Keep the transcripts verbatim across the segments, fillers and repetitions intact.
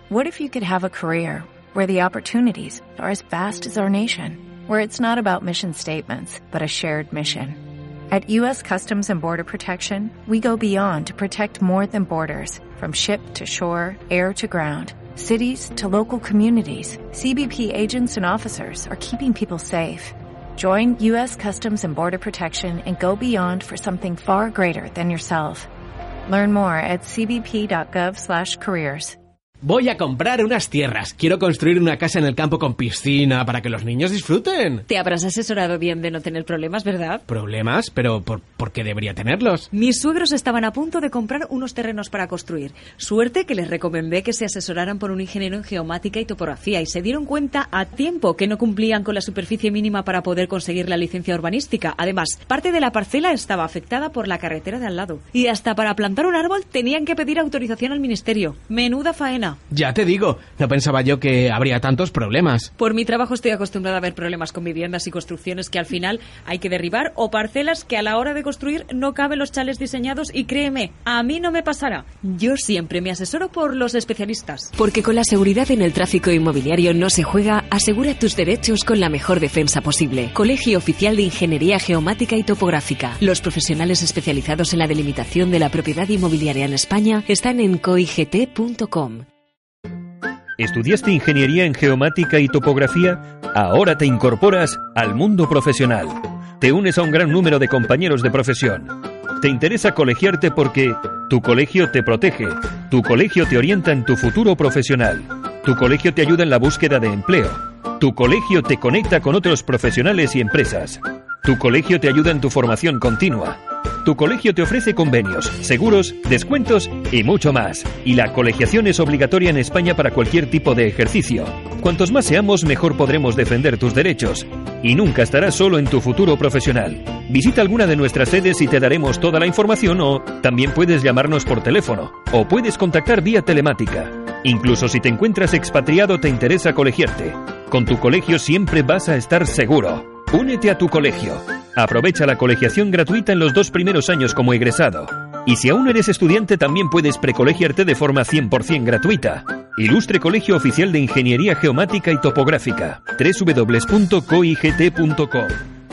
What if you could have a career where the opportunities are as vast as our nation, where it's not about mission statements, but a shared mission? At U S Customs and Border Protection, we go beyond to protect more than borders, from ship to shore, air to ground, cities to local communities. C B P agents and officers are keeping people safe. Join U S Customs and Border Protection and go beyond for something far greater than yourself. Learn more at c b p dot gov slash careers. Voy a comprar unas tierras. Quiero construir una casa en el campo con piscina para que los niños disfruten. Te habrás asesorado bien de no tener problemas, ¿verdad? ¿Problemas? ¿Pero por, por qué debería tenerlos? Mis suegros estaban a punto de comprar unos terrenos para construir. Suerte que les recomendé que se asesoraran por un ingeniero en geomática y topografía y se dieron cuenta a tiempo que no cumplían con la superficie mínima para poder conseguir la licencia urbanística. Además, parte de la parcela estaba afectada por la carretera de al lado. Y hasta para plantar un árbol tenían que pedir autorización al ministerio. Menuda faena. Ya te digo, no pensaba yo que habría tantos problemas. Por mi trabajo estoy acostumbrada a ver problemas con viviendas y construcciones que al final hay que derribar o parcelas que a la hora de construir no caben los chales diseñados y créeme, a mí no me pasará. Yo siempre me asesoro por los especialistas. Porque con la seguridad en el tráfico inmobiliario no se juega, asegura tus derechos con la mejor defensa posible. Colegio Oficial de Ingeniería Geomática y Topográfica. Los profesionales especializados en la delimitación de la propiedad inmobiliaria en España están en coigt punto com. ¿Estudiaste ingeniería en geomática y topografía? Ahora te incorporas al mundo profesional. Te unes a un gran número de compañeros de profesión. Te interesa colegiarte porque tu colegio te protege, tu colegio te orienta en tu futuro profesional, tu colegio te ayuda en la búsqueda de empleo, tu colegio te conecta con otros profesionales y empresas, tu colegio te ayuda en tu formación continua. Tu colegio te ofrece convenios, seguros, descuentos y mucho más. Y la colegiación es obligatoria en España para cualquier tipo de ejercicio. Cuantos más seamos, mejor podremos defender tus derechos. Y nunca estarás solo en tu futuro profesional. Visita alguna de nuestras sedes y te daremos toda la información o también puedes llamarnos por teléfono o puedes contactar vía telemática. Incluso si te encuentras expatriado te interesa colegiarte. Con tu colegio siempre vas a estar seguro. Únete a tu colegio. Aprovecha la colegiación gratuita en los dos primeros años como egresado. Y si aún eres estudiante, también puedes precolegiarte de forma cien por ciento gratuita. Ilustre Colegio Oficial de Ingeniería Geomática y Topográfica. doble u doble u doble u punto coigt punto com.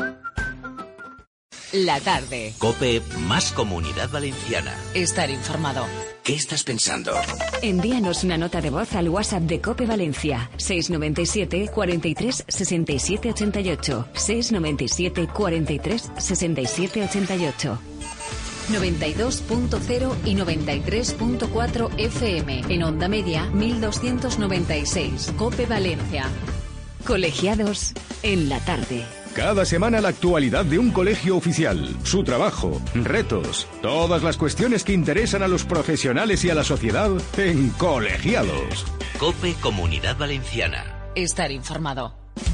La tarde. COPE más Comunidad Valenciana. Estar informado. ¿Qué estás pensando? Envíanos una nota de voz al WhatsApp de COPE Valencia. seis noventa y siete, cuarenta y tres, sesenta y siete ochenta y ocho. seis noventa y siete, cuarenta y tres, sesenta y siete ochenta y ocho. noventa y dos punto cero y noventa y tres punto cuatro F M. En onda media, mil doscientos noventa y seis. COPE Valencia. Colegiados en la tarde. Cada semana la actualidad de un colegio oficial, su trabajo, retos, todas las cuestiones que interesan a los profesionales y a la sociedad en Colegiados. COPE Comunidad Valenciana. Estar informado.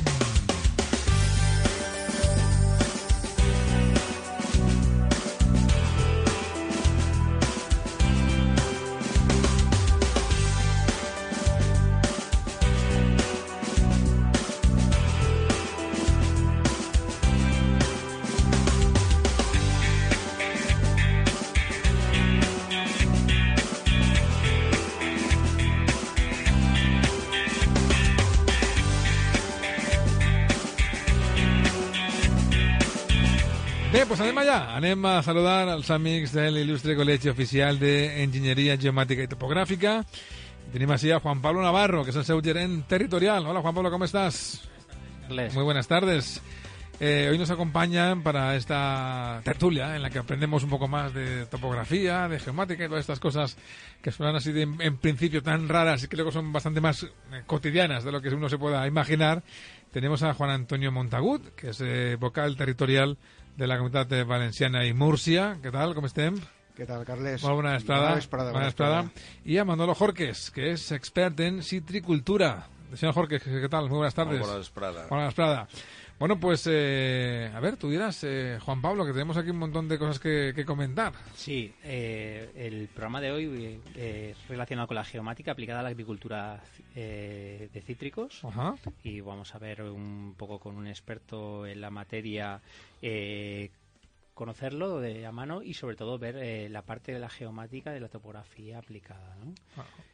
Bé, doncs anem allà. Anem a saludar als amics de l'il·lustre Col·legi Oficial d'Enginyeria Geomàtica i Topogràfica. Tenim així a Juan Pablo Navarro, que es el seu gerent territorial. Hola, Juan Pablo, ¿cómo estás? Les. Muy buenas tardes. Eh, hoy nos acompañan para esta tertulia en la que aprendemos un poco más de topografía, de geomática y todas estas cosas que suenan así de, en, en principio tan raras y que luego son bastante más eh, cotidianas de lo que uno se pueda imaginar. Tenemos a Juan Antonio Montagut, que es eh, vocal territorial de la Comunitat Valenciana i Múrcia. Què tal, com estem? Què tal, Carles? Molt bona vesprada. Bona vesprada. Bona vesprada. I a Manolo Jorques, que es expert en citricultura. Señor Jorques, ¿qué tal? Muy buenas tardes. Buena vesprada. Buena vesprada. Bueno, pues, eh, a ver, tú dirás, eh, Juan Pablo, que tenemos aquí un montón de cosas que, que comentar. Sí, eh, el programa de hoy eh, es relacionado con la geomática aplicada a la agricultura eh, de cítricos. Ajá. Y vamos a ver un poco con un experto en la materia, eh, conocerlo de a mano y sobre todo ver eh, la parte de la geomática de la topografía aplicada, ¿no? Ah.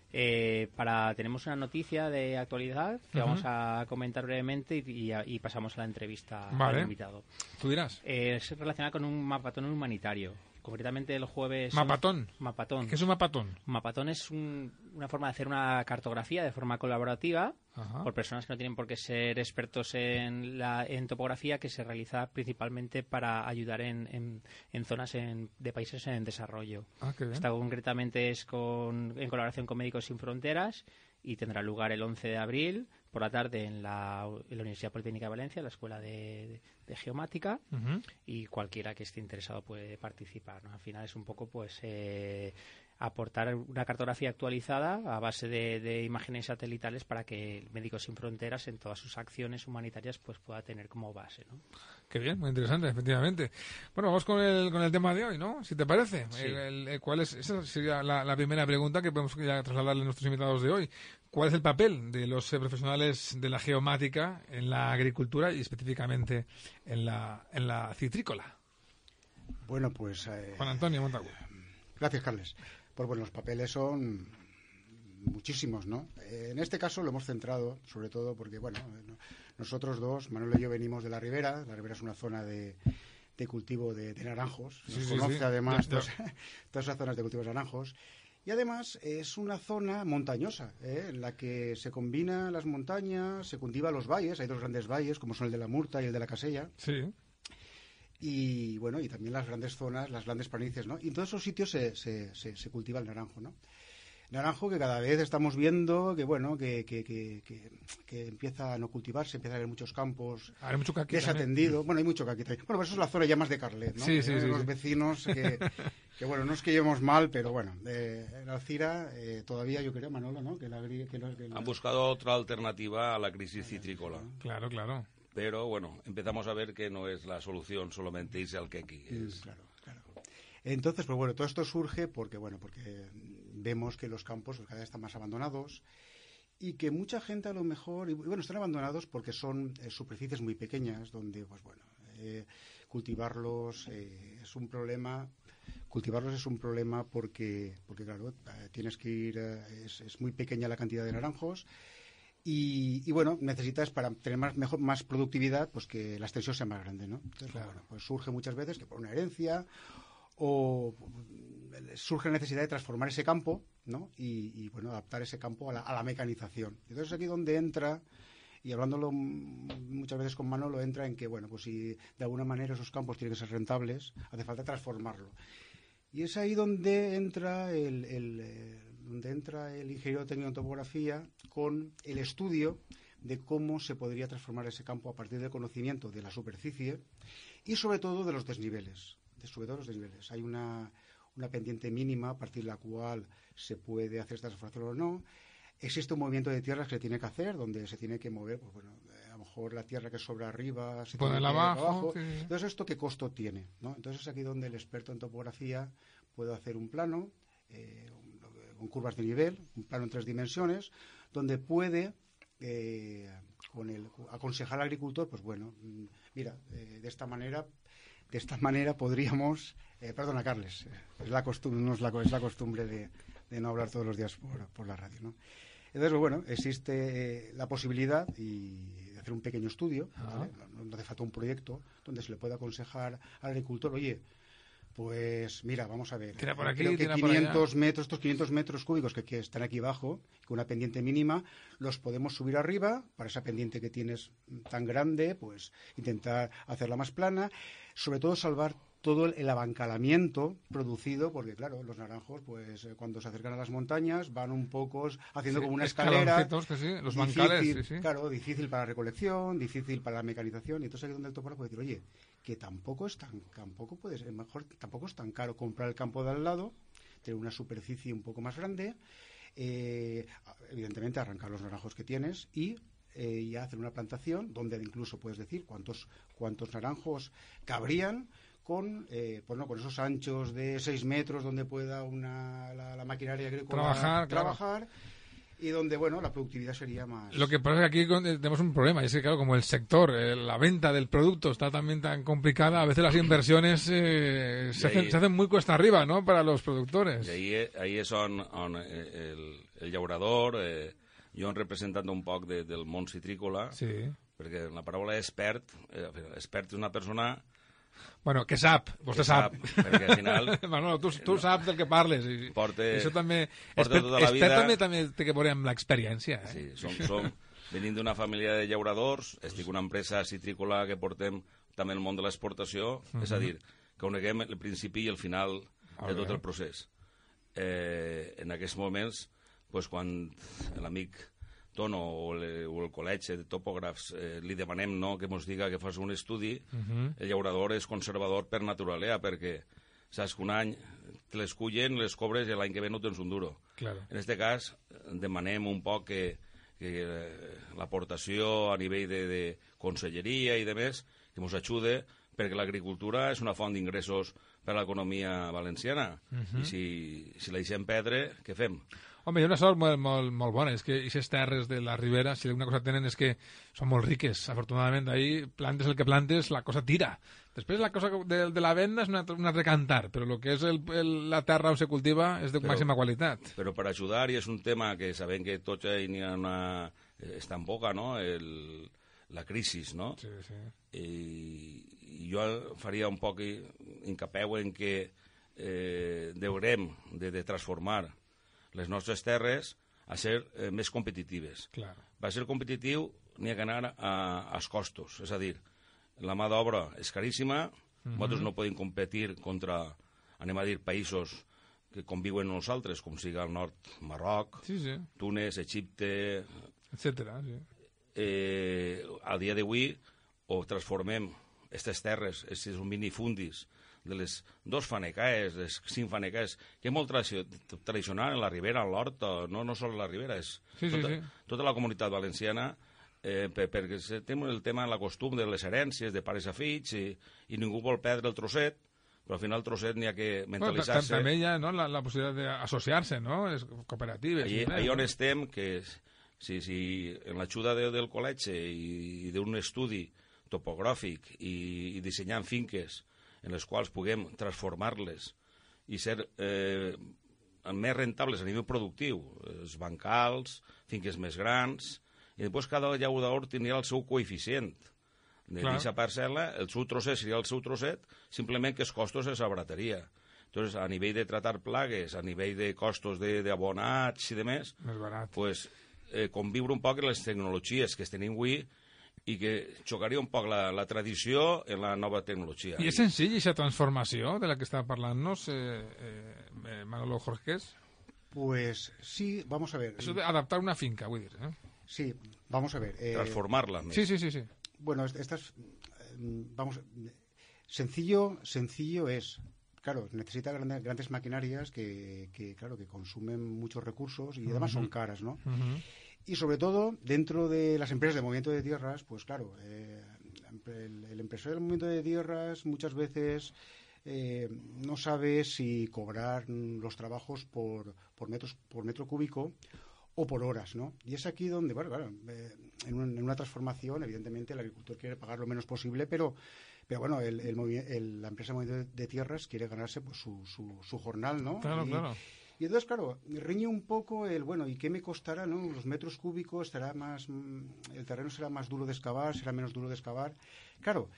Eh, para tenemos una noticia de actualidad que Uh-huh. vamos a comentar brevemente y, y, y pasamos a la entrevista Vale. al invitado. Tú dirás. Eh, es relacionada con un mapatón humanitario. Concretamente el jueves... ¿Mapatón? Mapatón. ¿Qué es un mapatón? Mapatón es un- una forma de hacer una cartografía de forma colaborativa Ajá. por personas que no tienen por qué ser expertos en, la, en topografía, que se realiza principalmente para ayudar en, en, en zonas en- de países en desarrollo. Ah, qué bien. Esta concretamente es con, en colaboración con Médicos Sin Fronteras y tendrá lugar el once de abril por la tarde en la, en la Universidad Politécnica de Valencia, en la Escuela de, de- de Geomática, Ujú. y cualquiera que esté interesado puede participar, ¿no? Al final es un poco pues eh, aportar una cartografía actualizada a base de, de imágenes satelitales para que Médicos Sin Fronteras en todas sus acciones humanitarias pues pueda tener como base, ¿no? Qué bien, muy interesante, efectivamente. Bueno, vamos con el, con el tema de hoy, ¿no? Si te parece. Sí. El- el- el- ¿cuál es, esa sería la, la primera pregunta que podemos ya trasladarle a nuestros invitados de hoy. ¿Cuál es el papel de los eh, profesionales de la geomática en la agricultura y específicamente en la, en la citrícola? Bueno, pues... Eh, Juan Antonio Montagu. Gracias, Carles. Pues bueno, los papeles son muchísimos, ¿no? Eh, en este caso lo hemos centrado, sobre todo porque, bueno, eh, no- nosotros dos, Manuel y yo, venimos de la Ribera. La Ribera es una zona de, de cultivo de, de naranjos. Nos Sí, sí, conoce sí. además Ya, ya. Todas, todas esas zonas de cultivo de naranjos. Y además es una zona montañosa, ¿eh? En la que se combinan las montañas, se cultivan los valles. Hay dos grandes valles, como son el de la Murta y el de la Casella. Sí. Y bueno, y también las grandes zonas, las grandes planicies, ¿no? Y en todos esos sitios se, se, se, se cultiva el naranjo, ¿no? Naranjo que cada vez estamos viendo que, bueno, que, que, que, que, que empieza a no cultivarse, empieza a haber muchos campos Hay mucho caqui desatendidos. Bueno, hay mucho caqui también. Bueno, pues eso es la zona ya más de Carlet, ¿no? Sí, sí, Eh, sí, Los sí. vecinos que, que, bueno, no es que llevemos mal, pero bueno, eh, en Alcira eh, todavía yo creo, Manolo, ¿no? Que la, agri- que la- que la- Han buscado otra alternativa a la crisis citrícola. Claro, claro. Pero bueno, empezamos a ver que no es la solución solamente irse al quequi. Mm, Es- claro, claro. Entonces, pues bueno, todo esto surge porque, bueno, porque vemos que los campos pues, cada vez están más abandonados y que mucha gente a lo mejor, y bueno, están abandonados porque son eh, superficies muy pequeñas donde, pues bueno, eh, cultivarlos eh, es un problema. Cultivarlos es un problema porque, porque claro, eh, tienes que ir, eh, es, es muy pequeña la cantidad de naranjos. Y, y, bueno, necesitas para tener más, mejor, más productividad, pues que la extensión sea más grande, ¿no? Entonces, Claro. bueno, pues surge muchas veces que por una herencia o surge la necesidad de transformar ese campo, ¿no? Y, y, bueno, adaptar ese campo a la, a la mecanización. Entonces aquí donde entra, y hablándolo muchas veces con Manolo, entra en que, bueno, pues si de alguna manera esos campos tienen que ser rentables, hace falta transformarlo. Y es ahí donde entra el, el, eh, donde entra el ingeniero técnico en topografía con el estudio de cómo se podría transformar ese campo a partir del conocimiento de la superficie y sobre todo de los desniveles. De, sobre todo los desniveles. Hay una, una pendiente mínima a partir de la cual se puede hacer esta transformación o no. Existe un movimiento de tierras que se tiene que hacer, donde se tiene que mover, pues bueno, a lo mejor la tierra que sobra arriba se tiene que Ponerla ir abajo, sí. Entonces, ¿esto qué costo tiene? ¿no? Entonces, es aquí donde el experto en topografía puede hacer un plano eh, con curvas de nivel, un plano en tres dimensiones, donde puede eh, con el, aconsejar al agricultor, pues bueno, mm, mira, eh, de esta manera, de esta manera podríamos, eh, perdona, Carles, eh, es la costumbre, no es la, es la costumbre de, de no hablar todos los días por, por la radio, ¿no? Entonces, pues, bueno, existe eh, la posibilidad y de hacer un pequeño estudio, ¿vale? no, no hace falta un proyecto donde se le pueda aconsejar al agricultor, oye, pues mira, vamos a ver, Tira por aquí, creo que tira por quinientos allá. metros, estos quinientos metros cúbicos que, que están aquí abajo, con una pendiente mínima, los podemos subir arriba, para esa pendiente que tienes tan grande, pues intentar hacerla más plana, sobre todo salvar todo el, el abancalamiento producido, porque claro, los naranjos, pues eh, cuando se acercan a las montañas, van un poco haciendo Sí, como una escalera. escaloncitos, que sí, los difícil, bancales, sí, sí. Claro, difícil para la recolección, difícil para la mecanización, y entonces aquí es donde el topógrafo puede decir, oye, que tampoco es tan, tampoco puede ser, mejor, tampoco es tan caro comprar el campo de al lado, tener una superficie un poco más grande, eh, evidentemente arrancar los naranjos que tienes y eh, ya hacer una plantación donde incluso puedes decir cuántos, cuántos naranjos cabrían con, eh, pues no, con esos anchos de seis metros donde pueda una, la, la maquinaria agrícola Trabajar, claro. trabajar y donde, bueno, la productividad sería más... Lo que pasa es que aquí tenemos un problema, y es que, claro, como el sector, eh, la venta del producto está también tan complicada, a veces las inversiones eh, se, hacen, ahí, se hacen muy cuesta arriba, ¿no?, para los productores. I ahí, ahí és on, on el, el llaurador, eh, jo representant un poc de, del món citrícola, sí. perquè la paraula expert, eh, expert és una persona... Bueno, que sap, vostè que sap. sap. Perquè al final... Manolo, tu, tu saps del que parles. I, porta, això també... porta Expert, tota la vida... expert també, també té que veure amb l'experiència. Eh? Sí, som, som venint d'una família de llauradors, estic una empresa citrícola que portem també el món de l'exportació, uh -huh. és a dir, que coneguem el principi i el final de tot el procés. Eh, en aquests moments, pues, quan l'amic Tono o, le, o el col·legi de topògrafs eh, li demanem, no, que ens diga que fas un estudi, uh -huh. el llaurador és conservador per naturalea, perquè saps que un any te les cullen, les cobres i l'any que ve no tens un duro. Claro. En aquest cas, demanem un poc que, que eh, l'aportació a nivell de, de conselleria i de més, que ens ajude, perquè l'agricultura és una font d'ingressos per a l'economia valenciana. Uh -huh. I si, si la deixem perdre, què fem? Home, hi ha una sort molt, molt, molt bona, és que aquestes terres de la Ribera, si una cosa tenen és que són molt riques, afortunadament, ahí plantes el que plantes, la cosa tira. Després la cosa de, de la venda és un altre, un altre cantar, però el que és el, el, la terra on se cultiva és de però, màxima qualitat. Però per ajudar, i és un tema que sabem que tots hi ha una... està en boca, no?, el, la crisi, no? Sí, sí. I, i jo faria un poc incapeu en que eh, deurem de, de transformar les nostres terres a ser eh, més competitives. Claro. Va ser competitiu, n'hi ha que anar a, als costos. És a dir, la mà d'obra és caríssima, uh -huh. nosaltres no podem competir contra, anem a dir, països que conviuen amb nosaltres, com siga el nord Marroc, sí, sí. Túnez, Egipte... etcètera. Sí. Eh, al dia d'avui o transformem aquestes terres, aquests minifundis, de les dos fanecaes, les cinc fanecaes, que és molt tradicional en la Ribera, en l'Hort, no, no sols la Ribera, és sí, tota, sí, sí. tota la comunitat valenciana, eh, per, perquè té el tema, la costum de les herències, de pares a fills, i, i ningú vol perdre el trosset, però al final el trosset n'hi ha que mentalitzar-se. Bueno, també hi ha, no, la, la possibilitat d'associar-se, no?, les cooperatives. Allà on estem, que si, si en l'ajuda de, del col·legi i, i d'un estudi topogràfic i, i dissenyant finques en les quals puguem transformar-les i ser eh, més rentables a nivell productiu, els bancals, finques més grans, i després cada llaurador tindria el seu coeficient de aquesta parcel·la, el seu trosset seria el seu trosset, simplement que els costos es abarataria. Entonces, a nivell de tratar plagues, a nivell de costos d'abonats i de més, més barat. Pues, eh, conviure un poc en les tecnologies que es tenim avui i que xocaria un poc la, la tradició en la nova tecnologia. I és senzill aquesta transformació de la que està parlant-nos eh, eh, Manolo Jorges? Pues sí, vamos a ver. Eso de adaptar una finca, vull dir, ¿eh? Sí, vamos a ver. Eh, Transformarla. Sí, sí, sí, sí. Bueno, estas, vamos, sencillo, sencillo es, claro, necesita grandes, grandes maquinarias que, que, claro, que consumen muchos recursos y además uh-huh. son caras, ¿no? Uh-huh. Y sobre todo, dentro de las empresas de movimiento de tierras, pues claro, eh, el, el empresario del movimiento de tierras muchas veces eh, no sabe si cobrar los trabajos por, por, metros, por metro cúbico o por horas, ¿no? Y es aquí donde, bueno, claro, eh, en, un, en una transformación, evidentemente, el agricultor quiere pagar lo menos posible, pero, pero bueno, el, el, el, la empresa de movimiento de, de tierras quiere ganarse pues su, su, su jornal, ¿no? Claro, y, claro. Y entonces, claro, riñe un poco el, bueno, ¿y qué me costará, no? Los metros cúbicos, estará más, el terreno será más duro de excavar, será menos duro de excavar. Claro,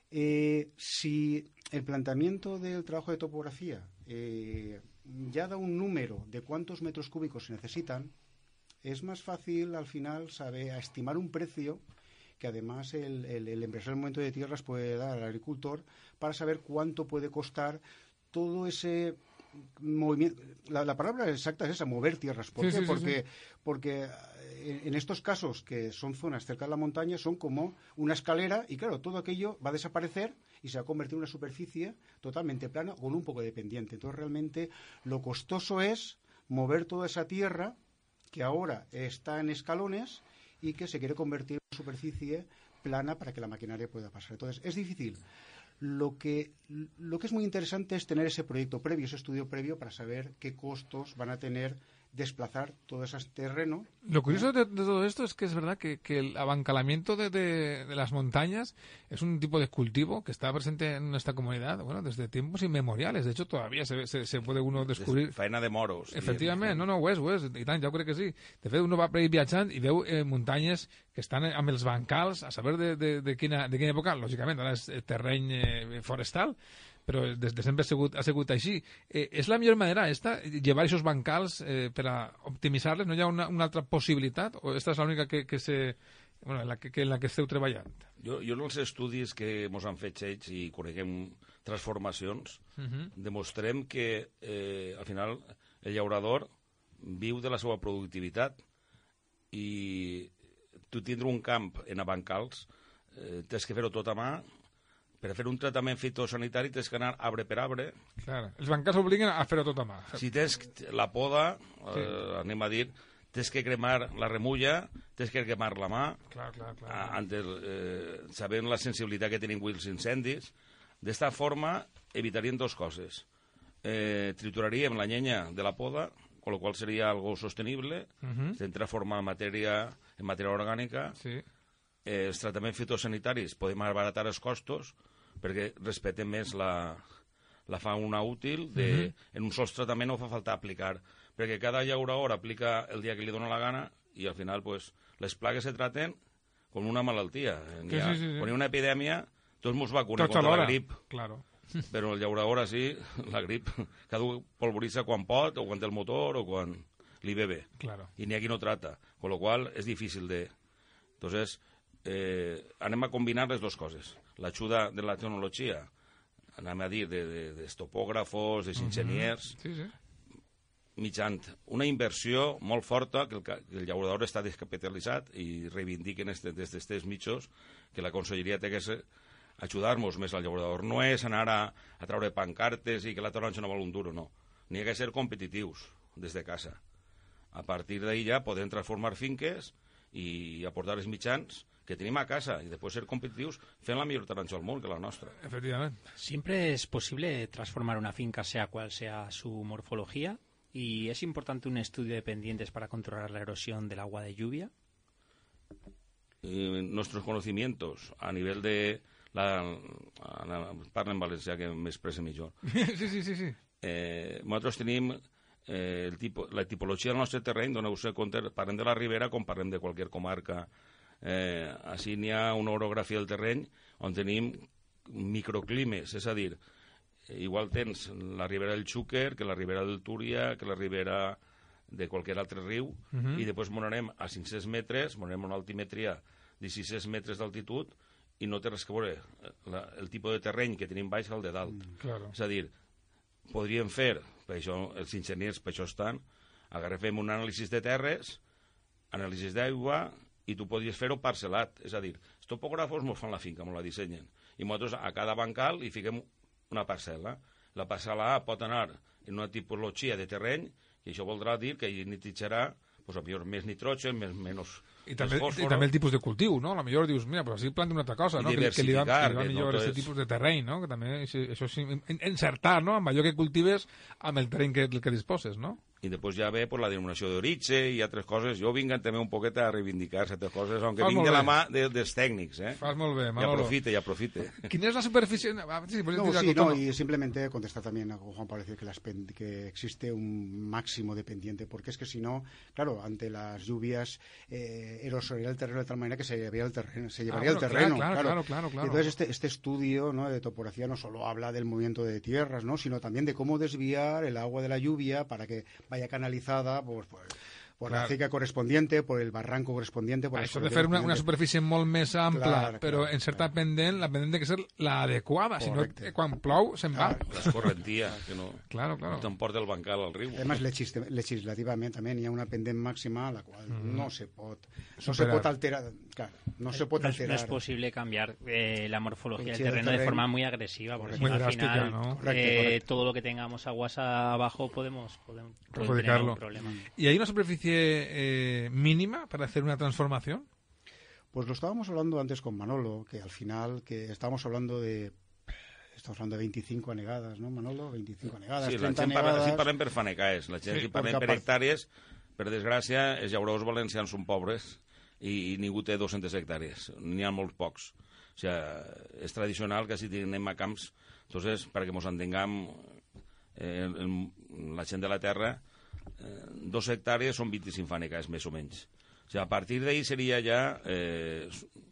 eh, si el planteamiento del trabajo de topografía eh, ya da un número de cuántos metros cúbicos se necesitan, es más fácil al final saber estimar un precio que además el, el, el empresario del momento de tierras puede dar al agricultor para saber cuánto puede costar todo ese movimiento. La, la palabra exacta es esa, mover tierras. ¿Por sí, qué? Sí, porque, sí. porque en, en estos casos que son zonas cerca de la montaña son como una escalera y claro, todo aquello va a desaparecer y se va a convertir en una superficie totalmente plana con un poco de pendiente. Entonces realmente lo costoso es mover toda esa tierra que ahora está en escalones y que se quiere convertir en una superficie plana para que la maquinaria pueda pasar. Entonces, es difícil. Lo que, lo que es muy interesante es tener ese proyecto previo, ese estudio previo para saber qué costos van a tener desplazar todo ese terreno. Lo curioso de, de todo esto es que es verdad que, que el abancalamiento de, de, de las montañas es un tipo de cultivo que está presente en nuestra comunidad, bueno, desde tiempos inmemoriales. De hecho, todavía se, se, se puede uno descobrir... Faena de moros. Efectivament, no, no, ho és, ho és, i tant, jo crec que sí. De fet, uno va per ahí viatjant i veu eh, muntanyes que estan amb els bancals, a saber de, de, de, quina, de quina època, lògicament, ara és terreny eh, forestal, però des de sempre ha sigut, ha sigut així. Eh, és la millor manera, esta, llevar aquests bancals eh, per a optimitzar-les? No hi ha una, una altra possibilitat? O esta és l'única que, que, se, bueno, en, la que, que en la que esteu treballant? Jo, jo en els estudis que ens han fet ells i coneguem transformacions, uh -huh. demostrem que eh, al final el llaurador viu de la seva productivitat i tu tindre un camp en bancals eh, tens que fer-ho tot a mà. Per fer un tractament fitosanitari tens que anar arbre per arbre. Clar, els bancals obliguen a fer-ho tot a mà. Si tens la poda, sí. eh, anem a dir, tens que cremar la remulla, tens que cremar la mà, clar, clar, clar. A, antes, eh, sabent la sensibilitat que tenen els incendis. D'esta forma evitaríem dues coses. Eh, trituraríem la llenya de la poda, con lo qual seria algo sostenible, uh -huh. estem transformant matèria en matèria orgànica. Sí. Eh, els tractaments fitosanitaris podem abaratar els costos perquè respectem més la, la fauna útil de, uh-huh. en un sol tractament no fa falta aplicar, perquè cada llaurador aplica el dia que li dona la gana i al final pues, les plagues se traten com una malaltia. Sí, ha, sí, sí, sí. Quan hi ha una epidèmia tots mos vacunen contra la grip, claro. però el llaurador així, la grip, cada un polvoritza quan pot o quan té el motor o quan li ve bé. Claro. I n'hi ha qui no trata, con lo qual és difícil de... Entonces, eh, anem a combinar les dues coses. L'ajuda de la tecnologia, anem a dir, de, de, de topògrafos, de enginyers, uh -huh. sí, sí. mitjant una inversió molt forta, que el, que el llaurador està descapitalitzat i reivindiquen este, des d'aquests mitjos que la conselleria té que ser ajudar-nos més al llaurador. No és anar a, a treure pancartes i que la taronja no val un duro, no. N'hi ha que ser competitius des de casa. A partir d'ahí ja podem transformar finques i aportar els mitjans que tenim a casa y después ser competitivos fent la millor taronja del món que la nostra. Efectivamente. Siempre es posible transformar una finca sea cual sea su morfología y es importante un estudio de pendientes para controlar la erosión del agua de lluvia. Eh, nuestros conocimientos a nivel de la, la parla en valencià que m'expressa millor. sí, sí, sí, sí. Eh, nosaltres tenim eh, el tipo, la tipologia del nostre terreny, doneu-vos compte, parlem de la Ribera com parlem de qualsevol comarca. Eh, així n'hi ha una orografia del terreny on tenim microclimes, és a dir, igual tens la Ribera del Xúquer que la Ribera del Túria, que la Ribera de qualsevol altre riu, uh -huh. i després m'anem a cinc-cents metres, m'anem a una altimetria de sis-cents metres d'altitud i no té res que veure la, el tipus de terreny que tenim baix al de dalt. Mm, claro. És a dir, podríem fer, per això els enginyers per això estan, agafem un anàlisi de terres, anàlisi d'aigua, i tu podries fer-ho parcel·lat, és a dir, els topògrafos mos fan la finca, mos la dissenyen, i nosaltres a cada bancal hi fiquem una parcel·la. La parcel·la A pot anar en una tipologia de terreny, i això voldrà dir que hi nitrogenarà pues, a millor més nitrogen, més, menys I també, i també el tipus de cultiu, no? A lo millor dius, mira, però així planti una altra cosa, no? Que, que li va, que li va millor aquest tipus de terreny, no? Que també, això és encertar, no? Amb allò que cultives, amb el terreny que, que disposes, no? I després ja ve pues, la denominació d'origen i altres coses. Jo vinc també un poquet a reivindicar certes coses, aunque vinc de la mà de, dels tècnics, eh? Fas molt bé, Manolo. I aprofite, i aprofite. ¿Quién es la superficie? Ah, sí, no, sí, no, y simplemente contestar también a Juan Pablo, decir que, las, que existe un máximo de pendiente, porque es que si no, claro, ante las lluvias eh, erosionaría el terreno de tal manera que se llevaría el terreno. Se llevaría ah, bueno, el terreno claro, claro, claro, claro, claro. Entonces este, este estudio, ¿no?, de topografía no solo habla del movimiento de tierras, ¿no?, sino también de cómo desviar el agua de la lluvia para que vaya canalizada por, por, por claro. la acequia correspondiente, por el barranco correspondiente. Por això de fer una, una superfície molt més ampla, clar, però clar, en certa clar. pendent, la pendent de que ser l'adequada, si no, quan plou se'n va. L'escorrentia, que no, claro, claro. no t'emporta el bancal al riu. Además, legislativament també hi ha una pendent màxima a la qual mm. no se pot no Superar. se pot alterar, claro, no se pot no, alterar. No es posible cambiar eh, la morfología del terreno, terreno de forma muy agresiva, porque muy al drástica, final ¿no? eh, correcto, correcto. todo lo que tengamos aguas abajo podemos, podemos, podemos tener perjudicarlo. un problema. ¿Y hay una superficie eh, mínima para hacer una transformación? Pues lo estábamos hablando antes con Manolo, que al final que estábamos hablando de estamos hablando de veinticinco anegadas, ¿no, Manolo? veinticinco anegadas, sí, trenta la gent anegadas... parla, si parlem per fanecaes, la gent Sí, si parlem perquè per a part- hectàrees, per desgràcia, els llauradors valencians són pobres i, i ningú té dues-centes hectàrees, n'hi ha molts pocs. O sigui, és tradicional que si anem a camps, entonces, perquè ens entenguem, eh, el, la gent de la terra, eh, dos hectàrees són vint-i-cinc fanecaes, més o menys. O sigui, a partir d'ahir seria ja eh,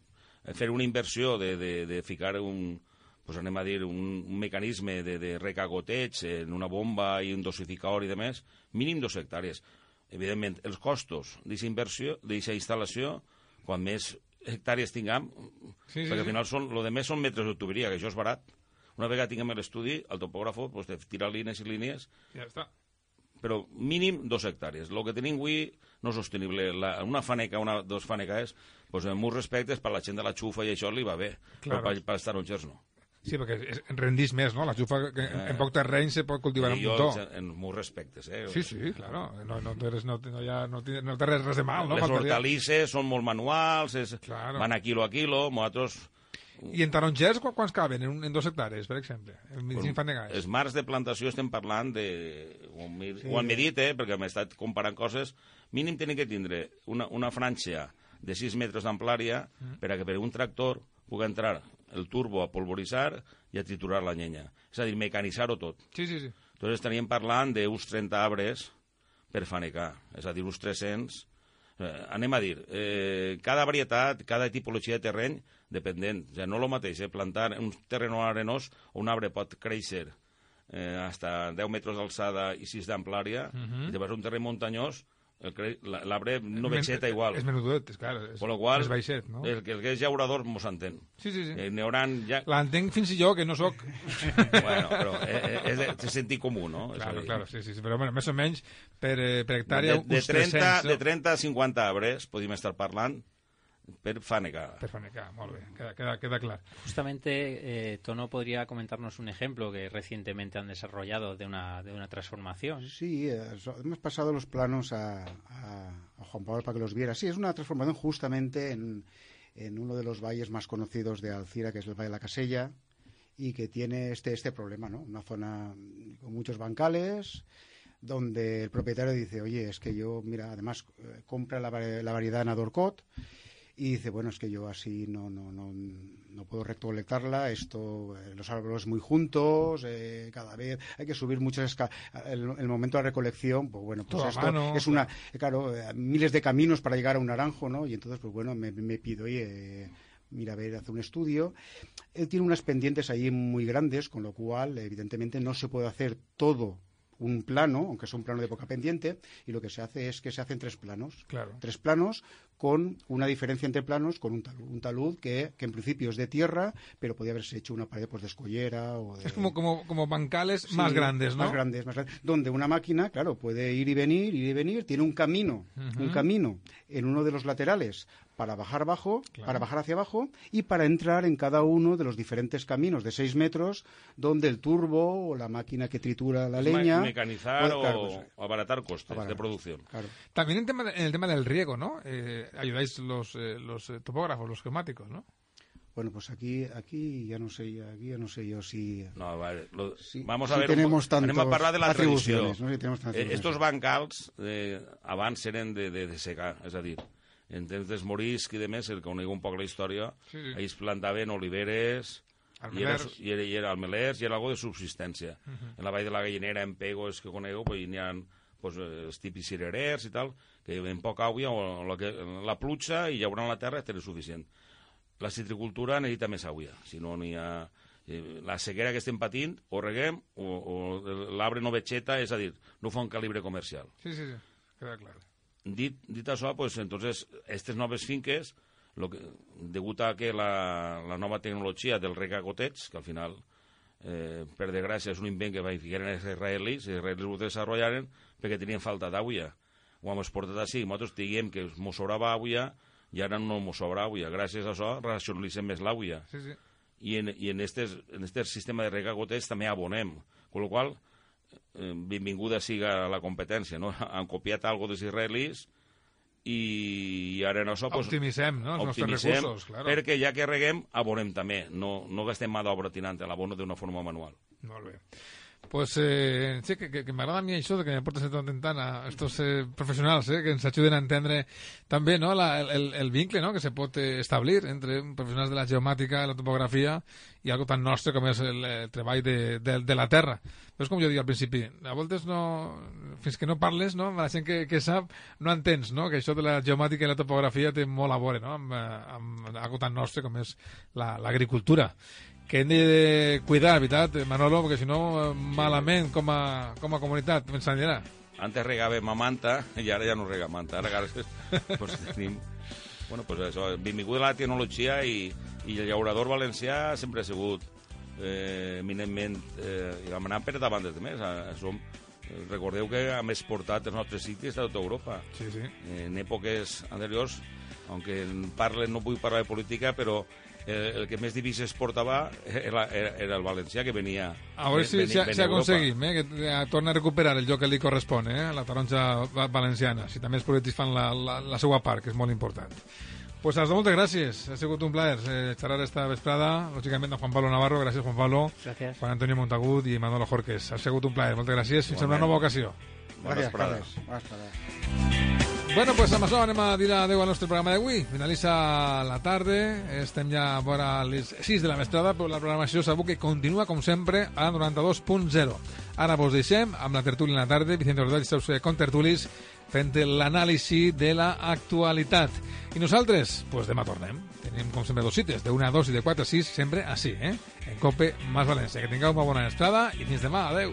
fer una inversió de, de, de ficar un, pues anem a dir, un, un mecanisme de, de recagoteig en una bomba i un dosificador i demés, mínim dos hectàrees. Evidentment, els costos d'aquesta inversió, d'aquesta instal·lació, quan més hectàrees tinguem, sí, sí, perquè al sí. final són, lo de més són metres de tuberia, que això és barat. Una vegada tinguem l'estudi, el topògrafo pues, te tira línies i línies, Ja està. però mínim dos hectàrees. El que tenim avui no és sostenible. La, una faneca, una, dos fanecaes, pues, en molts respectes, per la gent de la xufa i això li va bé, Claro. però per, per els tarongers no. Sí, perquè és, rendís més, no? La xufa, que en, en poc terreny se pot cultivar un I jo, muntó. en molts respectes, eh? Sí, sí, claro. No, no, té res, no, no, hi ha, no, té, no té res, res de mal, no? Les Faltaria. hortalisses són molt manuals, és, Claro. van a quilo a quilo, nosaltres... I en tarongers, qu quants caben? En, un, en dos hectàrees, per exemple? En Pues, cinc fanegas. els marcs de plantació estem parlant de... Ho, mir, Sí. ho han medit, eh? Perquè hem estat comparant coses. Mínim tenen que tindre una, una franja de sis metres d'amplària Mm. per a que per un tractor pugui entrar el turbo a polvoritzar i a triturar la llenya. És a dir, mecanitzar-ho tot. Sí, sí, sí. Entonces estaríem parlant d'uns trenta arbres per fanecar, és a dir, uns tres-cents. Eh, anem a dir, eh, cada varietat, cada tipologia de terreny, dependent. O sigui, no el mateix, eh, plantar un terreny arenós on un arbre pot créixer eh, hasta deu metres d'alçada i sis d'amplària, Mhm. i llavors un terreny muntanyós, el cre- la- l'arbre no Men- vegeta igual. És menudet, és clar. És, Con lo qual, és baixet, no? el, que el que és llaurador mos entén. Sí, sí, sí. Eh, N'hi hauran ja... L'entenc fins i jo, que no sóc. Bueno, però eh, és de, de sentit comú, no? És a Claro, dir, claro, sí, sí, sí. Però bueno, més o menys per, eh, per hectàrea de, de, uns trenta, tres-cents, no? de trenta a cinquanta arbres podríem estar parlant per fanecar. Per fanecar, molt bé, queda, queda, queda clar. Justamente, eh, Tono podría comentarnos un ejemplo que recientemente han desarrollado de una, de una transformación. Sí, eh, hemos pasado los planos a, a, a Juan Pablo para que los viera. Sí, es una transformación justamente en, en uno de los valles más conocidos de Alcira, que es el Valle de la Casella, y que tiene este, este problema, ¿no? Una zona con muchos bancales, donde el propietario dice, oye, es que yo, mira, además eh, compra la, vari- la variedad Nadorcot, y dice, bueno, es que yo así no no no, no puedo recolectarla, esto, eh, los árboles muy juntos, eh, cada vez hay que subir muchas escaleras, el, el momento de la recolección, pues bueno, pues Todo a esto mano, es una, eh, claro, eh, miles de caminos para llegar a un naranjo, ¿no? Y entonces, pues bueno, me, me pido, oye, eh, mira, a ver, hace un estudio. Él tiene unas pendientes ahí muy grandes, con lo cual, evidentemente, no se puede hacer todo un plano, aunque es un plano de poca pendiente, y lo que se hace es que se hacen tres planos. Claro. Tres planos con una diferencia entre planos, con un talud, un talud que, que en principio es de tierra, pero podría haberse hecho una pared pues, de escollera o de... Es como, como, como bancales Sí, más grandes, ¿no? Más grandes, más grandes. Donde una máquina, claro, puede ir y venir, ir y venir, tiene un camino, Ujú. un camino en uno de los laterales para bajar abajo, Claro. para bajar hacia abajo y para entrar en cada uno de los diferentes caminos de seis metros donde el turbo o la máquina que tritura la Es leña... me- mecanizar pues, o claro, pues, abaratar costes abaratar, de producción. claro. También en, tema de- en el tema del riego, ¿no? Eh, ayudáis los, eh, los eh, topógrafos, los geomáticos, ¿no? Bueno, pues aquí, aquí ya no sé, aquí ya no sé yo si... No, vale. Lo, Sí, vamos a sí ver. tenemos un po- anem a tantos parlar de la tradició. atribuciones, ¿no? Sí, tenemos tantas Eh, atribuciones. estos bancals eh, abans eren de, de, de secar, és a dir, en temps dels moriscs i de més, el que conegu un poc la història, Sí, sí. ells plantaven oliveres, i era, Almelers. i era, i era almelers, i era algo de subsistència. Mhm. En la vall de la Gallinera, en Pegos, que conegu, pues, n'hi ha pues, eh, els típics cirerers i tal, que en poca aigua, o la, que, la pluja i llaurant la terra tenen suficient. La citricultura necessita més aigua, si no n'hi ha... eh, La sequera que estem patint, o reguem, o, o l'arbre no vegeta, és a dir, no fa un calibre comercial. Sí, sí, sí, queda claro. Dit, dit això, pues, entonces, aquestes noves finques, lo que, degut a que la, la nova tecnologia del regagoteig, que al final, eh, per desgràcia, és un invent que van ficar en els israelis, els israelis ho desenvoluparen perquè tenien falta d'aigua. Ho hem exportat així, nosaltres diguem que mos sobrava aigua i ara no mos sobra aigua. Gràcies a això racionalitzem més l'aigua. Sí, sí. I en, i en este en este sistema de regagoteig també abonem. Con lo qual, eh, benvinguda siga la competència, no? Han copiat algo dels israelis i I ara en això... Pues, optimitzem, no?, els nostres recursos, claro. Perquè ja que reguem, abonem també. No, no gastem mà d'obra tinant l'abono d'una forma manual. Molt bé. Pues eh, sí, que, que, que m'agrada a mi això de que me portes tant en tant a estos eh, professionals eh, que ens ajuden a entendre també, no, la, el, el vincle, no, que se pot eh, establir entre professionals de la geomàtica, la topografia i algo tan nostre com és el, el treball de, de, de la terra. Però és com jo dic al principi, a voltes no, fins que no parles, no, la gent que, que sap no entens, no, que això de la geomàtica i la topografia té molt a veure, no, amb, amb algo tan nostre com és l'agricultura. La, que hem de cuidar, veritat, Manolo, perquè si no, malament com a, com a comunitat, ens anirà. Antes regàvem a manta i ara ja no rega a manta. Ara pues, tenim... Bueno, pues això, benvinguda la tecnologia i, i el llaurador valencià sempre ha sigut eh, eminentment eh, anant per davant dels demés. Som, recordeu que hem exportat els nostres ciclis a tota Europa. Sí, sí. En èpoques anteriors, aunque parlen, no vull parlar de política, però el, el que més divises exportava era, era, era el valencià, que venia a veure si, si, si aconseguim eh, que torna a recuperar el lloc que li correspon, eh, la taronja valenciana, si també els polítics fan la, la, la seva part, que és molt important. Pues als moltes gràcies, ha sigut un plaer eh, xerrar esta vesprada, lògicament a Juan Pablo Navarro, gràcies Juan Pablo, gràcies. Juan Antonio Montagut i Manolo Jorques, ha sigut un plaer, moltes gràcies, fins a una nova ocasió. Gràcies, gràcies. Bona vesprada. Bueno, pues amb això anem a dir adeu al nostre programa d'avui. Finalitza la tarda, estem ja a vora les sis de la vesprada, però la programació sabeu que continua, com sempre, a noranta-dos punt zero. Ara vos deixem amb la tertúlia en la tarda, Vicente Ordell i seus contertulis, fent l'anàlisi de l'actualitat. I nosaltres, pues demà tornem. Tenim, com sempre, dos cites, de una a dos i de quatre a sis, sempre així, eh? En Cope Más València. Que tingueu una bona vesprada i fins demà. Adeu.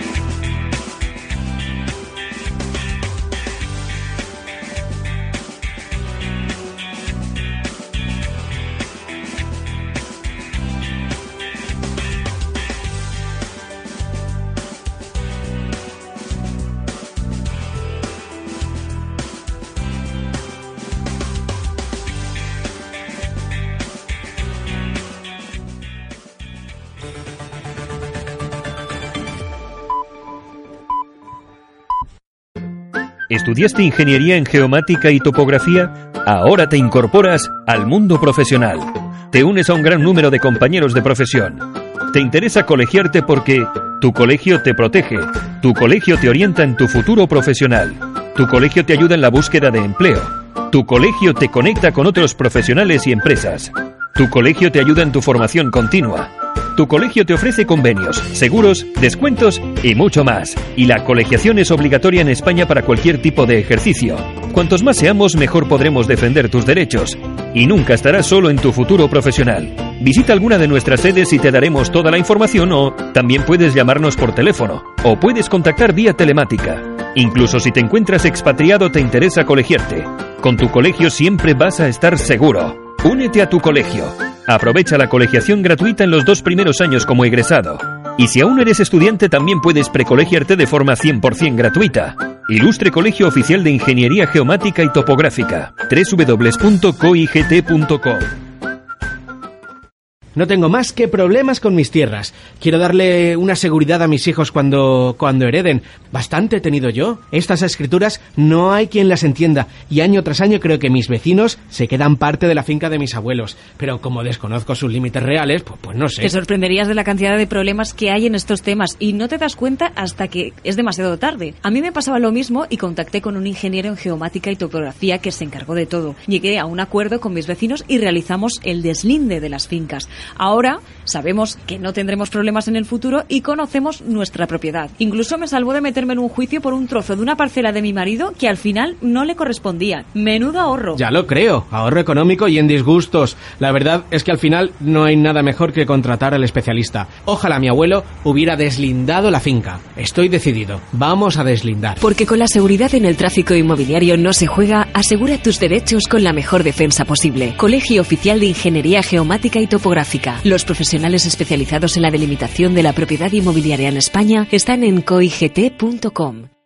¿Estudiaste ingeniería en geomática y topografía? Ahora te incorporas al mundo profesional. Te unes a un gran número de compañeros de profesión. Te interesa colegiarte porque tu colegio te protege, tu colegio te orienta en tu futuro profesional, tu colegio te ayuda en la búsqueda de empleo, tu colegio te conecta con otros profesionales y empresas, tu colegio te ayuda en tu formación continua. Tu colegio te ofrece convenios, seguros, descuentos y mucho más. Y la colegiación es obligatoria en España para cualquier tipo de ejercicio. Cuantos más seamos, mejor podremos defender tus derechos. Y nunca estarás solo en tu futuro profesional. Visita alguna de nuestras sedes y te daremos toda la información, o también puedes llamarnos por teléfono o puedes contactar vía telemática. Incluso si te encuentras expatriado, te interesa colegiarte. Con tu colegio siempre vas a estar seguro. Únete a tu colegio. Aprovecha la colegiación gratuita en los dos primeros años como egresado. Y si aún eres estudiante, también puedes precolegiarte de forma cien por ciento gratuita. Ilustre Colegio Oficial de Ingeniería Geomática y Topográfica. doble u doble u doble u punto coigt punto com. No tengo más que problemas con mis tierras. Quiero darle una seguridad a mis hijos cuando, cuando hereden. Bastante he tenido yo. Estas escrituras no hay quien las entienda. Y año tras año creo que mis vecinos se quedan parte de la finca de mis abuelos. Pero como desconozco sus límites reales, pues, pues no sé. Te sorprenderías de la cantidad de problemas que hay en estos temas. Y no te das cuenta hasta que es demasiado tarde. A mí me pasaba lo mismo y contacté con un ingeniero en geomática y topografía que se encargó de todo. Llegué a un acuerdo con mis vecinos y realizamos el deslinde de las fincas. Ahora sabemos que no tendremos problemas en el futuro y conocemos nuestra propiedad. Incluso me salvó de meterme en un juicio por un trozo de una parcela de mi marido que al final no le correspondía. Menudo ahorro. Ya lo creo, ahorro económico y en disgustos. La verdad es que al final no hay nada mejor que contratar al especialista. Ojalá mi abuelo hubiera deslindado la finca. Estoy decidido, vamos a deslindar. Porque con la seguridad en el tráfico inmobiliario no se juega, asegura tus derechos con la mejor defensa posible. Colegio Oficial de Ingeniería Geomática y Topográfica. Los profesionales especializados en la delimitación de la propiedad inmobiliaria en España están en coigt punto com.